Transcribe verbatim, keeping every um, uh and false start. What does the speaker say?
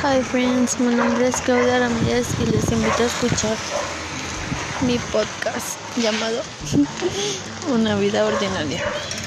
Hi friends, mi nombre es Claudia Ramírez y les invito a escuchar mi podcast llamado Una vida ordinaria.